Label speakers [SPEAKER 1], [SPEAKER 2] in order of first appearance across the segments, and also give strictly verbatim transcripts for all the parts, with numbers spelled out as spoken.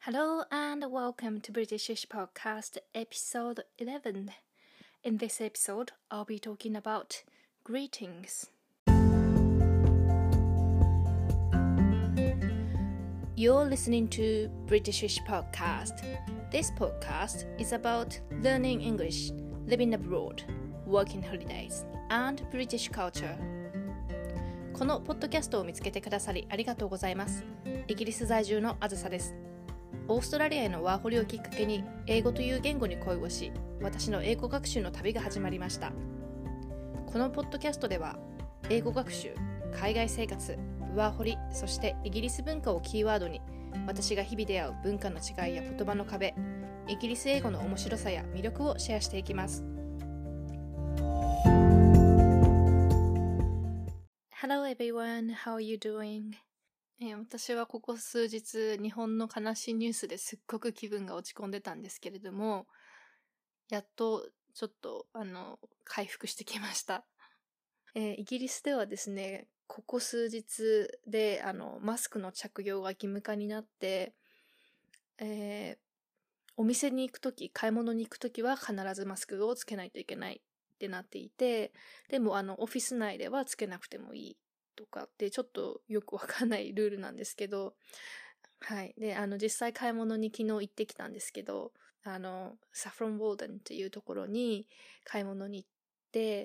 [SPEAKER 1] Hello and welcome to Britishish Podcast episode eleven. In this episode, I'll be talking about greetings. You're listening to Britishish Podcast. This podcast is about learning English, living abroad, working holidays, and British culture. このポッドキャストを見つけてくださりありがとうございます。イギリス在住のあずさです。オーストラリアへのワーホリをきっかけに英語という言語に恋をし、私の英語学習の旅が始まりました。このポッドキャストでは英語学習、海外生活、ワーホリ、そしてイギリス文化をキーワードに、私が日々出会う文化の違いや言葉の壁、イギリス英語の面白さや魅力をシェアしていきます。Hello everyone, how are you doing?えー、私はここ数日日本の悲しいニュースですっごく気分が落ち込んでたんですけれども、やっとちょっとあの回復してきました。えー、イギリスではですね、ここ数日であのマスクの着用が義務化になって、えー、お店に行くとき、買い物に行くときは必ずマスクをつけないといけないってなっていて、でもあのオフィス内ではつけなくてもいいとかってちょっとよくわかんないルールなんですけど、はい。で、あの実際買い物に昨日行ってきたんですけど、あのサフロンウォーデンっていうところに買い物に行って、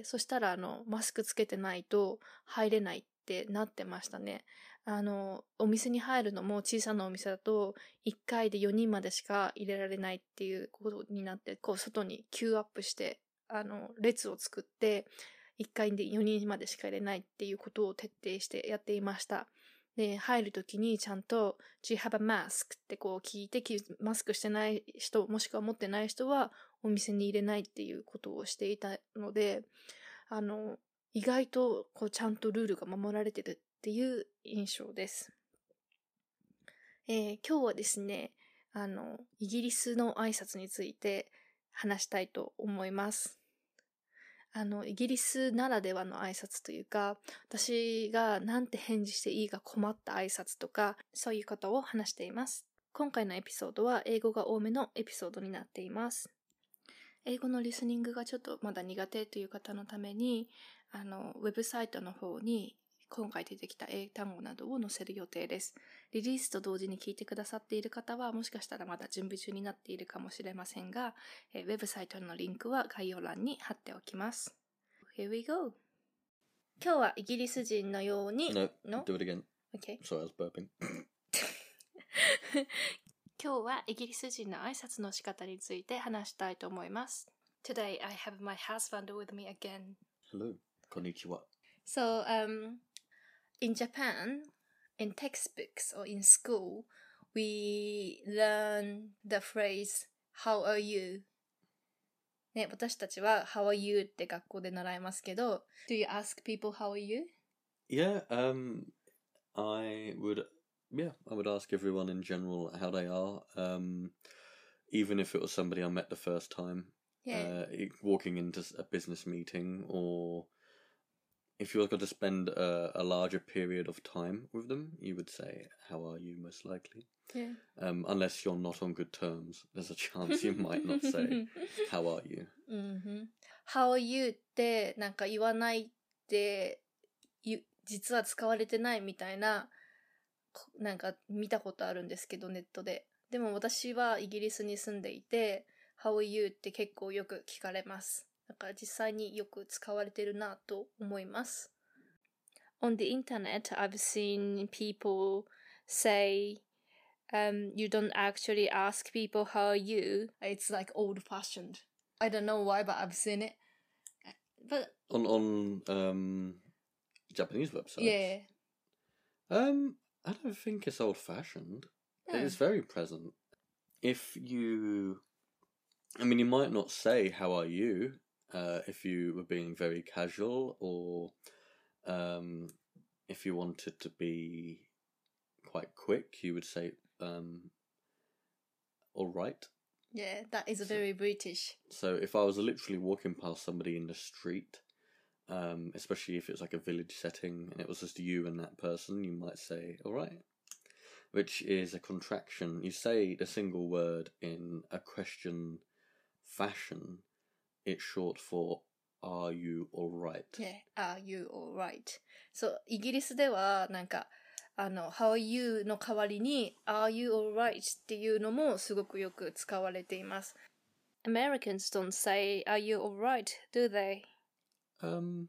[SPEAKER 1] そしたらあのマスクつけてないと入れないってなってましたね。あのお店に入るのも小さなお店だといっかいでよにんまでしか入れられないっていうことになって、こう外にキューアップしてあの列を作っていっかいでよにんまでしか入れないっていうことを徹底してやっていました。で、入るときにちゃんと Do you have a mask? ってこう聞いて、マスクしてない人、もしくは持ってない人はお店に入れないっていうことをしていたので、あの、意外とこうちゃんとルールが守られてるっていう印象です。えー、今日はですね、あの、イギリスの挨拶について話したいと思います。あの、イギリスならではの挨拶というか、私がなんて返事していいか困った挨拶とか、そういうことを話しています。今回のエピソードは英語が多めのエピソードになっています。英語のリスニングがちょっとまだ苦手という方のために、あの、ウェブサイトの方に今回出てきた英単語などを載せる予定です。リリースと同時に聞いてくださっている方はもしかしたらまだ準備中になっているかもしれませんが、えウェブサイトのリンクは概要欄に貼っておきます。Here we go! 今日はイギリス人のように
[SPEAKER 2] No,
[SPEAKER 1] No?
[SPEAKER 2] do it again.
[SPEAKER 1] Okay.
[SPEAKER 2] Sorry, I was burping.
[SPEAKER 1] 今日はイギリス人の挨拶の仕方について話したいと思います。Today I have my husband with me again.
[SPEAKER 2] Hello, konnichiwa.
[SPEAKER 1] So, um, in Japan, in textbooks or in school, we learn the phrase, How are you? ね、私たちは How are you? って学校で習いますけど、Do you ask people how are you?
[SPEAKER 2] Yeah, um, I would, yeah, I would ask everyone in general how they are, um, even if it was somebody I met the first time,
[SPEAKER 1] Yeah.
[SPEAKER 2] uh, walking into a business meeting, or if you're going to spend a, a larger period of time with them, you would say, how are you, most likely.
[SPEAKER 1] Yeah.
[SPEAKER 2] Um, unless you're not on good terms, there's a chance you might not say, how are you?
[SPEAKER 1] Mm-hmm. How are you? ってなんか言わないって実は使われてないみたいななんか見たことあるんですけど、ネットで。でも私はイギリスに住んでいて How are you? って結構よく聞かれます。だから実際によく使われてるなと思います。On the internet, I've seen people say Um, you don't actually ask people how are you. It's like old-fashioned. I don't know why, but I've seen it. But
[SPEAKER 2] On on um Japanese websites.
[SPEAKER 1] yeah,
[SPEAKER 2] Um, I don't think it's old-fashioned.
[SPEAKER 1] yeah.
[SPEAKER 2] It is very present. If you, I mean, you might not say "How are you?" Uh, if you were being very casual, or um, if you wanted to be quite quick, you would say um, "All right."
[SPEAKER 1] Yeah, that is
[SPEAKER 2] So-
[SPEAKER 1] very British.
[SPEAKER 2] So if I was literally walking past somebody in the street, um, especially if it's like a village setting and it was just you and that person, you might say, all right. which is a contraction. You say the single word in a question fashion. It's short for Are you alright?
[SPEAKER 1] Yeah, are you alright? そう、イギリスではなんかあの How are you の代わりに Are you alright? っていうのもすごくよく使われています。Americans don't say Are you alright? Do they?
[SPEAKER 2] Um,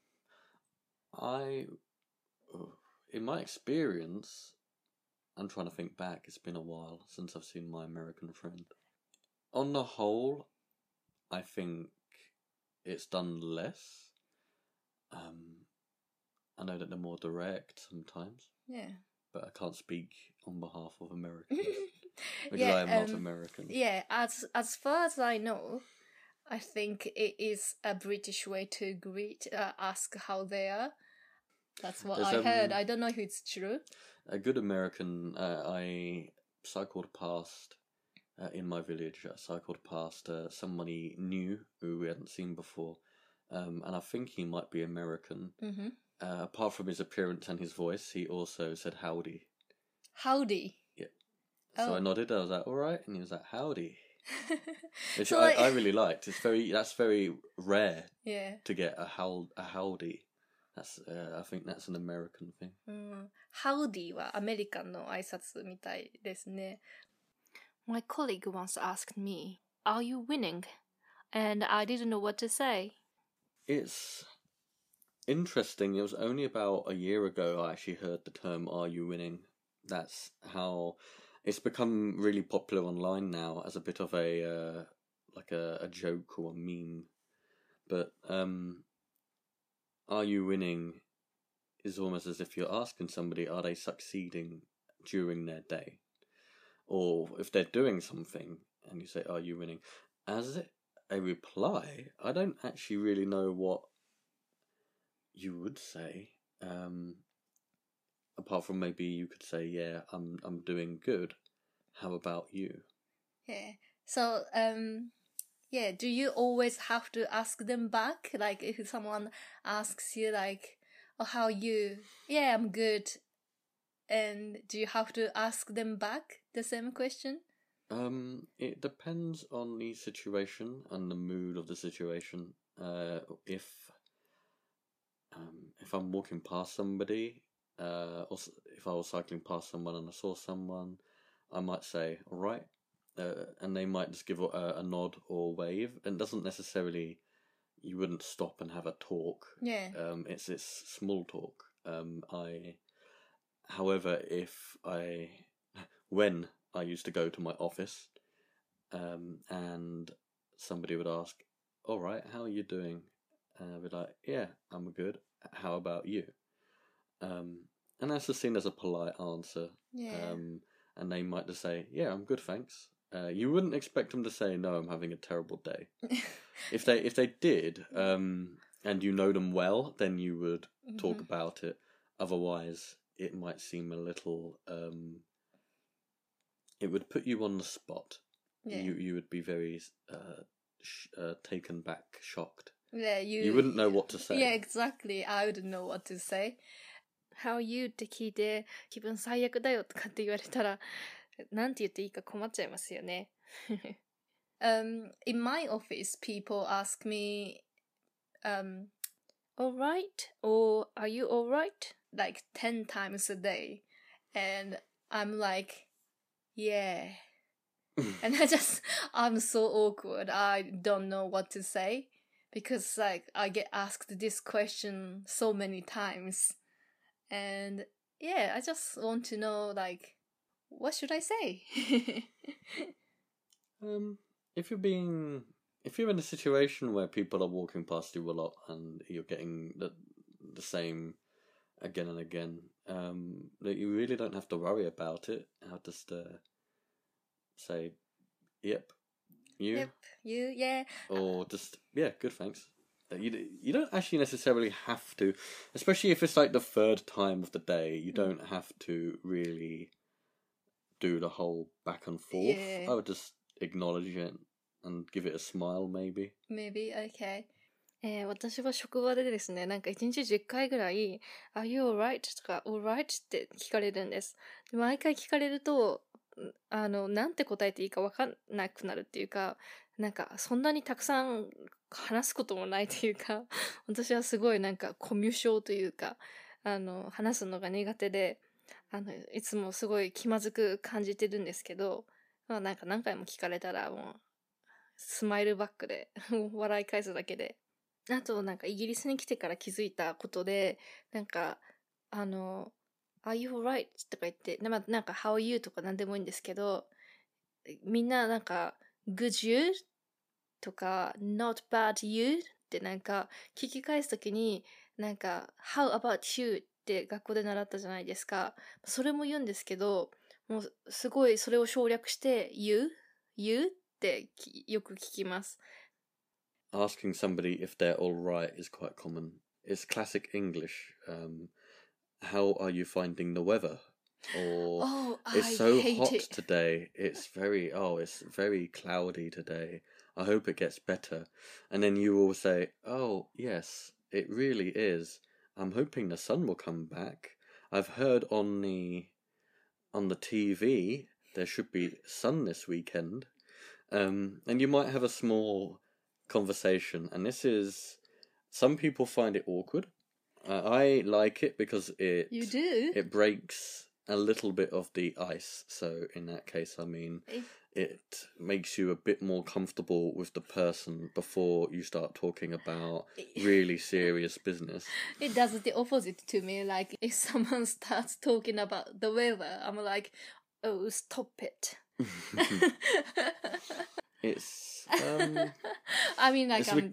[SPEAKER 2] I, in my experience, I'm trying to think back. It's been a while since I've seen my American friend. On the whole, I think it's done less. Um, I know that they're more direct sometimes.
[SPEAKER 1] Yeah.
[SPEAKER 2] But I can't speak on behalf of Americans because
[SPEAKER 1] yeah,
[SPEAKER 2] I am not
[SPEAKER 1] um,
[SPEAKER 2] American.
[SPEAKER 1] Yeah, as as far as I know, I think it is a British way to greet, uh, ask how they are. That's what
[SPEAKER 2] There's,
[SPEAKER 1] I
[SPEAKER 2] um,
[SPEAKER 1] heard. I don't know if it's true.
[SPEAKER 2] A good American, uh, I cycled past, uh, in my village, I cycled past uh, somebody new who we hadn't seen before, um, and I think he might be American.
[SPEAKER 1] Mm-hmm.
[SPEAKER 2] Uh, apart from his appearance and his voice, he also said howdy.
[SPEAKER 1] Howdy?
[SPEAKER 2] Yeah. So
[SPEAKER 1] Oh.
[SPEAKER 2] I nodded, I was like, alright, and he was like, howdy. Which
[SPEAKER 1] so
[SPEAKER 2] I,
[SPEAKER 1] like...
[SPEAKER 2] I really liked. It's very, that's very rare
[SPEAKER 1] yeah.
[SPEAKER 2] to get a, how, a howdy. That's, uh, I think that's an American thing.
[SPEAKER 1] うん、Howdy はアメリカンの挨拶みたいですね。My colleague once asked me, Are you winning? And I didn't know what to say.
[SPEAKER 2] It's interesting. It was only about a year ago I actually heard the term Are you winning? That's how it's become really popular online now as a bit of a, uh, like a, a joke or a meme. But, um... Are you winning is almost as if you're asking somebody, are they succeeding during their day? Or if they're doing something and you say, are you winning? As a reply, I don't actually really know what you would say. Um, apart from maybe you could say, yeah, I'm I'm doing good. How about you?
[SPEAKER 1] Yeah. So, um... yeah, do you always have to ask them back? Like, if someone asks you, like, oh, how are you? Yeah, I'm good. And do you have to ask them back the same question?
[SPEAKER 2] Um, it depends on the situation and the mood of the situation. Uh, if um, if I'm walking past somebody, uh, or if I was cycling past someone and I saw someone, I might say, all right. Uh, and they might just give a, a nod or wave, and doesn't necessarily, you wouldn't stop and have a talk.
[SPEAKER 1] Yeah.
[SPEAKER 2] Um, it's it's small talk. Um, I, however, if I, when I used to go to my office, um, and somebody would ask, "All right, how are you doing?" And I'd be like, "Yeah, I'm good. How about you?" Um, and that's just seen as a polite answer.
[SPEAKER 1] Yeah.
[SPEAKER 2] Um, and they might just say, "Yeah, I'm good, thanks." Uh, you wouldn't expect them to say, "No, I'm having a terrible day." if they if they did, um, and you know them well, then you would mm-hmm. talk about it. Otherwise, it might seem a little. Um, it would put you on the spot. Yeah. You you would be very uh, sh- uh, taken back, shocked.
[SPEAKER 1] Yeah, you.
[SPEAKER 2] You wouldn't know what to say.
[SPEAKER 1] Yeah, exactly. I wouldn't know what to say. How are you って聞いて気分最悪だよとかって言われたら。なんて言っていいか困っちゃいますよね。um, in my office, people ask me, um, alright? Or are you alright? Like ten times a day. And I'm like, yeah. And I just, I'm so awkward. I don't know what to say. Because like, I get asked this question so many times. And yeah, I just want to know like, what should I say?
[SPEAKER 2] um, if you're being, if you're in a situation where people are walking past you a lot and you're getting the the same again and again, um, that you really don't have to worry about it. I'll just uh, say, "Yep, you."
[SPEAKER 1] Yep, you, yeah.
[SPEAKER 2] Or just yeah, good, thanks. You you don't actually necessarily have to, especially if it's like the third time of the day. You don't have to really do the whole back and forth.
[SPEAKER 1] Yeah.
[SPEAKER 2] I would just acknowledge it and give it a smile, maybe.
[SPEAKER 1] Maybe, okay. えー私は職場でですね、なんかいちにちじゅっかいぐらい、Are you alright? とか alright? って聞かれるんです。で毎回聞かれると、んあの、なんて答えていいかわかんなくなるっていうか、なんかそんなにたくさん話すこともないというか、私はすごいなんかコミュ障というか、あの、話すのが苦手で、あの、いつもすごい気まずく感じてるんですけど、まあなんか何回も聞かれたらもう、スマイルバックで笑い返すだけで。あと、なんかイギリスに来てから気づいたことで、なんか、あの、Are you alright? とか言って、なまあなんか How are you? とか何でもいいんですけど、みんななんか Good you? とか Not bad you? ってなんか聞き返すときに、なんか How about you? って学校で習ったじゃないですか。それも言うんですけど、もうすごいそれを省略して You? You? ってきよく聞きます。
[SPEAKER 2] Asking somebody if they're all right is quite common. It's classic English. Um, how are you finding the weather? Or
[SPEAKER 1] Oh,
[SPEAKER 2] it's
[SPEAKER 1] I
[SPEAKER 2] so
[SPEAKER 1] hate
[SPEAKER 2] hot
[SPEAKER 1] it.
[SPEAKER 2] today. It's very oh, it's very cloudy today. I hope it gets better. And then you will say, "Oh, yes, it really is. I'm hoping the sun will come back. I've heard on the on the T V there should be sun this weekend." Um, and you might have a small conversation, and this is some people find it awkward. Uh, I like it because it
[SPEAKER 1] You do?
[SPEAKER 2] it breaks a little bit of the ice. So in that case, I mean,
[SPEAKER 1] It,
[SPEAKER 2] it makes you a bit more comfortable with the person before you start talking about really serious business.
[SPEAKER 1] it does the opposite to me. Like, if someone starts talking about the weather, I'm like, oh, stop it.
[SPEAKER 2] It's um,
[SPEAKER 1] I mean, like,
[SPEAKER 2] it's
[SPEAKER 1] I'm.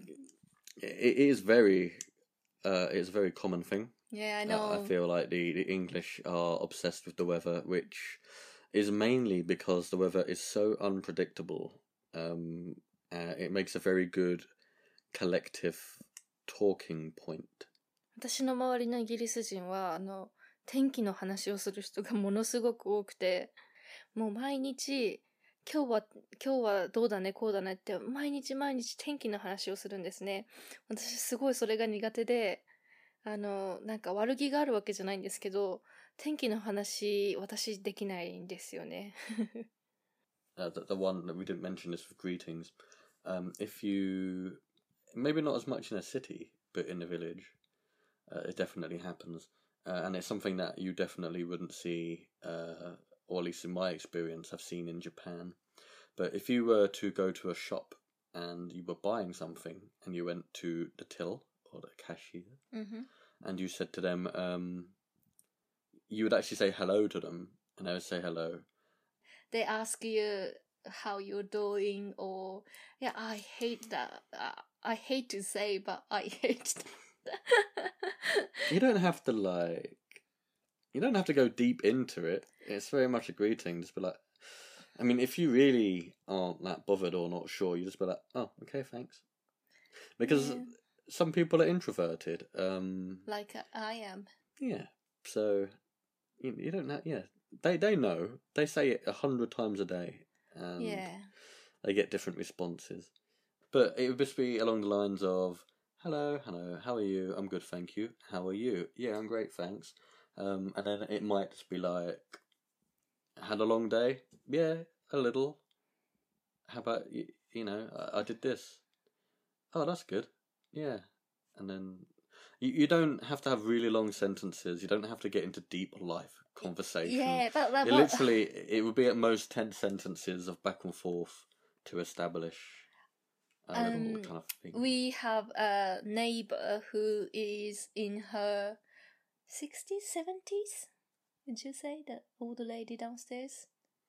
[SPEAKER 2] it is very uh, it's a very common thing.
[SPEAKER 1] Yeah, I
[SPEAKER 2] Uh,
[SPEAKER 1] know.
[SPEAKER 2] I feel like the, the English are obsessed with the weather, which is mainly because the weather is so unpredictable. Um, uh, it makes a very good collective talking point.
[SPEAKER 1] 私の周りのイギリス人は、あの、天気の話をする人がものすごく多くて、もう毎日、今日は、今日はどうだね、こうだねって、毎日毎日天気の話をするんですね。私すごいそれが苦手で、あの、なんか悪気があるわけじゃないんですけど、天気の話、私できないんですよね。
[SPEAKER 2] Uh, the, the one that we didn't mention is for greetings. Um, if you, maybe not as much in a city, but in a village, uh, it definitely happens. Uh, and it's something that you definitely wouldn't see, uh, or at least in my experience, I've seen in Japan. But if you were to go to a shop and you were buying something and you went to the till or the cashier
[SPEAKER 1] Mm-hmm.
[SPEAKER 2] and you said to them, um, you would actually say hello to them and they would say hello.
[SPEAKER 1] They ask you how you're doing, or yeah, I hate that. Uh, I hate to say, but I hate that.
[SPEAKER 2] You don't have to like, you don't have to go deep into it. It's very much a greeting. Just be like, I mean, if you really aren't that bothered or not sure, you just be like, oh, okay, thanks. Because
[SPEAKER 1] Yeah.
[SPEAKER 2] some people are introverted. Um,
[SPEAKER 1] Like uh, I am.
[SPEAKER 2] yeah, so you, you don't know. Yeah, they they know. They say it a hundred times a day, and
[SPEAKER 1] Yeah.
[SPEAKER 2] they get different responses. But it would just be along the lines of, "Hello, hello, how are you? I'm good, thank you. How are you? Yeah, I'm great, thanks." Um, and then it might just be like, "Had a long day? Yeah, a little. How about you? You know, I, I did this. Oh, that's good. Yeah." And then you, you don't have to have really long sentences. You don't have to get into deep life conversation.
[SPEAKER 1] Yeah, but, but,
[SPEAKER 2] It
[SPEAKER 1] but
[SPEAKER 2] literally, it would be at most ten sentences of back and forth to establish a little
[SPEAKER 1] Um,
[SPEAKER 2] kind of thing.
[SPEAKER 1] we have a neighbor who is in her sixties, seventies. Would you say that older lady downstairs?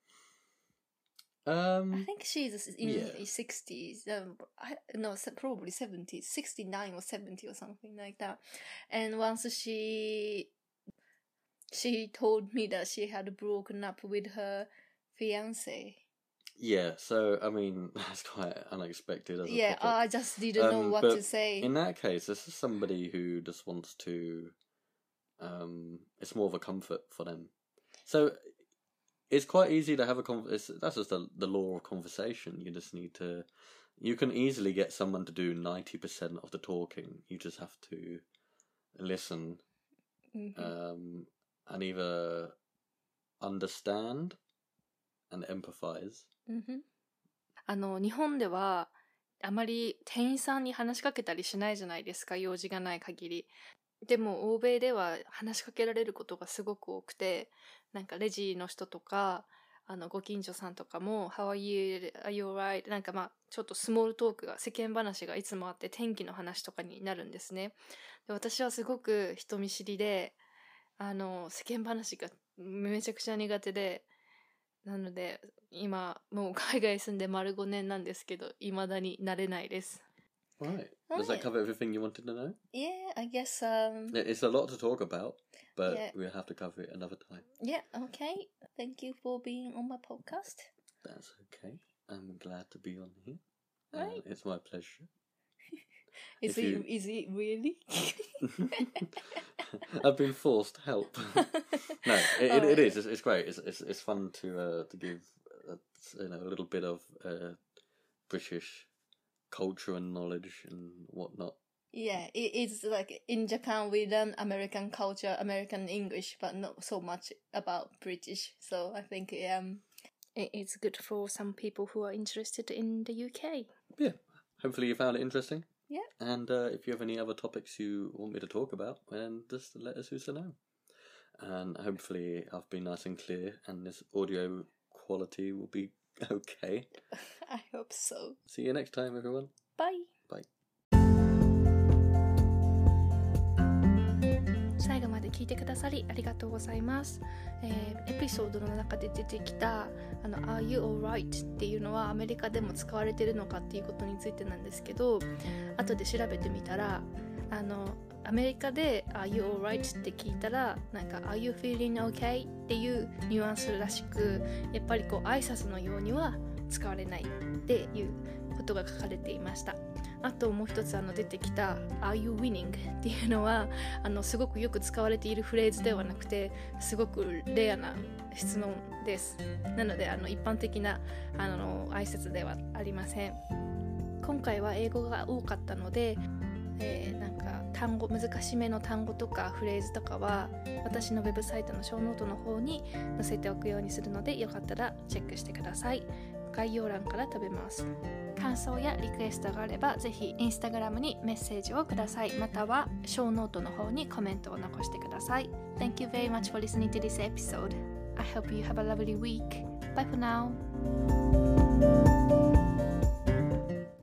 [SPEAKER 2] Um,
[SPEAKER 1] I think she's in
[SPEAKER 2] yeah.
[SPEAKER 1] sixties. Um, I, no, se- probably seventies, sixty-nine or seventy or something like that. And once she she told me that she had broken up with her fiance.
[SPEAKER 2] Yeah, so I mean that's quite unexpected as a
[SPEAKER 1] Yeah,
[SPEAKER 2] topic.
[SPEAKER 1] I just didn't know
[SPEAKER 2] Um,
[SPEAKER 1] what
[SPEAKER 2] but
[SPEAKER 1] to say.
[SPEAKER 2] in that case, this is somebody who just wants to. Um, it's more of a comfort for them. So it's quite easy to have a con. It's, that's just the the law of conversation. You just need to you can easily get someone to do ninety percent of the talking. You just have to listen
[SPEAKER 1] Mm-hmm.
[SPEAKER 2] um, and either understand and empathize.
[SPEAKER 1] Mm-hmm. あの日本ではあまり店員さんに話しかけたりしないじゃないですか、用事がない限り。でも欧米では話しかけられることがすごく多くて、なんかレジの人とかあのご近所さんとかも How are you? Are you alright? なんかまあちょっとスモールトークが、世間話がいつもあって、天気の話とかになるんですね。で、私はすごく人見知りで、あの世間話がめちゃくちゃ苦手で、なので今もう海外住んで丸ごねんなんですけど、未だに慣れないです。
[SPEAKER 2] Right. Does that cover everything you wanted to know?
[SPEAKER 1] Yeah, I guess um
[SPEAKER 2] It's a lot to talk about, but
[SPEAKER 1] Yeah.
[SPEAKER 2] we'll have to cover it another time.
[SPEAKER 1] Yeah, okay. Thank you for being on my podcast.
[SPEAKER 2] That's okay. I'm glad to be on here.
[SPEAKER 1] Right.
[SPEAKER 2] Uh, it's my pleasure.
[SPEAKER 1] Is
[SPEAKER 2] If
[SPEAKER 1] it
[SPEAKER 2] you-
[SPEAKER 1] is it really?
[SPEAKER 2] I've been forced to help. No, it,
[SPEAKER 1] Oh,
[SPEAKER 2] it, it
[SPEAKER 1] yeah.
[SPEAKER 2] is. It's, it's great. It's, it's it's fun to uh, to give uh, you know a little bit of uh, British culture and knowledge and whatnot.
[SPEAKER 1] Yeah, it, it's like in Japan we learn American culture, American English, but not so much about British. So I think um it, it's good for some people who are interested in the U K.
[SPEAKER 2] Yeah. Hopefully you found it interesting.
[SPEAKER 1] Yeah.
[SPEAKER 2] And uh, if you have any other topics you want me to talk about, then just let us know. And hopefully I've been nice and clear, and this audio quality will be okay.
[SPEAKER 1] I hope so.
[SPEAKER 2] See you next time, everyone.
[SPEAKER 1] Bye.
[SPEAKER 2] Bye.
[SPEAKER 1] 最後まで聞いてくださりありがとうございます。えーエピソードの中で出てきたあの Are you alright? っていうのはアメリカでも使われてるのかっていうことについてなんですけど、後で調べてみたら、あのアメリカで Are you alright? って聞いたら、なんか Are you feeling okay? っていうニュアンスらしく、やっぱりこう挨拶のようには使われないっていうことが書かれていました。あともう一つあの出てきた Are you winning? っていうのはあのすごくよく使われているフレーズではなくて、すごくレアな質問です。なのであの一般的なあの挨拶ではありません。今回は英語が多かったので、えー、なんか単語、難しめの単語とかフレーズとかは私のウェブサイトのショーノートの方に載せておくようにするので、よかったらチェックしてください。概要欄から飛べます。感想やリクエストがあればぜひインスタグラムにメッセージをください。またはショーノートの方にコメントを残してください。Thank you very much for listening to this episode. I hope you have a lovely week. Bye for now.